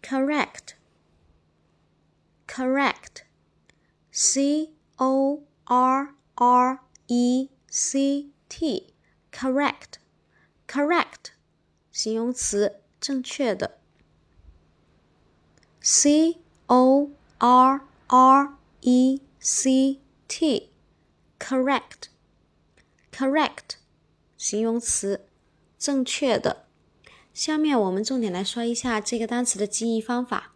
correct correct C-O-R-R-E-C-T correct correct 形容词正确的 C-O-R-R-E-C-T correct correct 形容词正确的下面我们重点来说一下这个单词的记忆方法